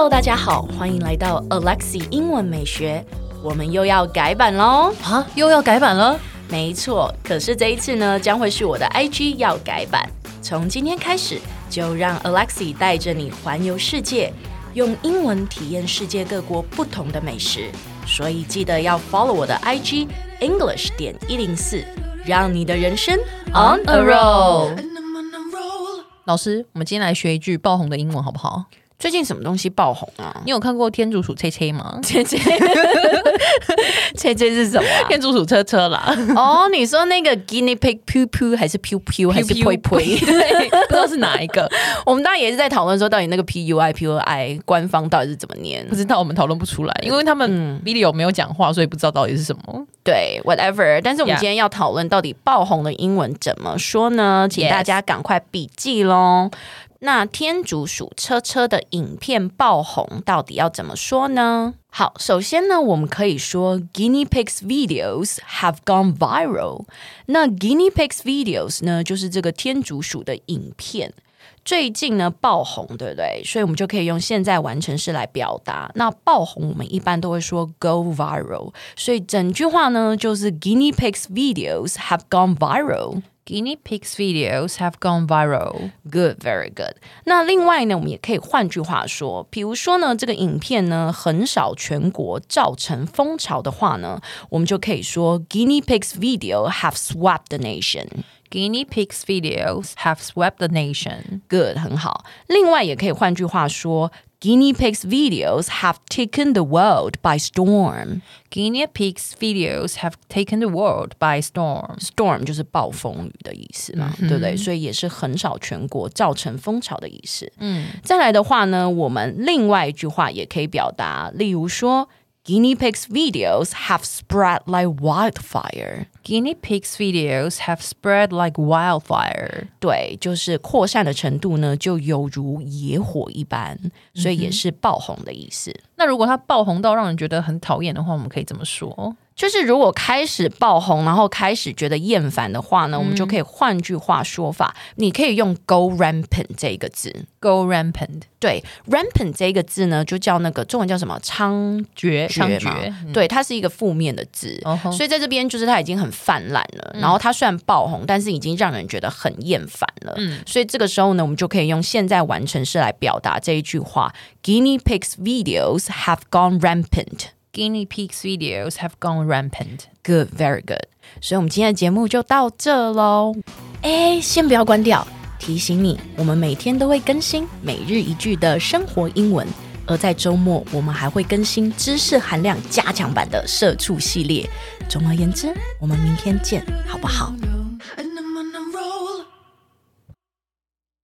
Hello， 大家好，歡迎來到 Alexi 英文美學。我們又要改版嘍！ 啊，又要改版了？ 沒錯，可是這一次呢，將會是我的 IG 要改版。從今天開始，就讓 Alexi 帶着你環遊世界，用英文體驗世界各國不同的美食。所以記得要 follow 我的 IG English.104，讓你的人生 on a roll。 老師，我們今天來學一句爆紅的英文好不好？ 最近什麼東西爆紅啊？ 你有看過天竺鼠車車嗎？ 車車是什麼啊？ 天竺鼠車車啦。 哦，你說那個 guinea pig poo poo 還是 pew pew 還是 pui pui？ 對，不知道是哪一個。 我們當然也是在討論說，到底那個 pui 官方到底是怎麼念？ 不知道，我們討論不出來，因為他們 video 沒有講話，所以不知道到底是什麼。 對 ，whatever。但是我們今天要討論到底爆紅的英文怎麼說呢？請大家趕快筆記咯。那天竺鼠車車的影片爆紅，到底要怎麼說呢？好，首先呢，我們可以說 Guinea pigs videos have gone viral。那 Guinea pigs videos 呢，就是這個天竺鼠的影片，最近呢爆紅，對不對？所以我們就可以用現在完成式來表達。那爆紅我們一般都會說 go viral， 所以整句話呢就是 Guinea pigs videos have gone viral。Guinea pigs videos have gone viral. Good, very good. 那另外呢，我們也可以換句話說，比如說呢，這個影片呢橫掃全國，造成風潮的話呢，我們就可以說 Guinea pigs video have swept the nation. Guinea pigs videos have swept the nation. Good, 很好。另外也可以換句話說，Guinea pigs videos have taken the world by storm. Guinea pigs videos have taken the world by storm. Storm 就是暴風雨的意思嘛，對不對？所以也是橫掃全國，造成風潮的意思。再來的話呢，我們另外一句話也可以表達，例如說，Guinea pigs videos have spread like wildfire. Guinea pigs videos have spread like wildfire. 对，就是擴散的程度呢，就猶如野火一般，所以也是爆紅的意思。 那如果它爆紅到讓人覺得很討厭的話，我們可以怎麼說？ 就是如果開始爆紅，然後開始覺得厭煩的話呢，我們就可以換句話說法，你可以用 go rampant 這個字。 go rampant， 對 ，rampant 這個字呢，就叫那個中文叫什麼？猖獗嘛。對，它是一個負面的字，所以在這邊就是它已經很泛濫了。然後它雖然爆紅，但是已經讓人覺得很厭煩了。所以這個時候呢，我們就可以用現在完成式來表達這一句話 ：Guinea pigs videos have gone rampant。Guinea pigs videos have gone rampant. Good, very good. 所以我們今天的節目就到這嘍。先不要關掉，提醒你，我們每天都會更新每日一句的生活英文，而在週末我們還會更新知識含量加強版的社畜系列。總而言之，我們明天見，好不好？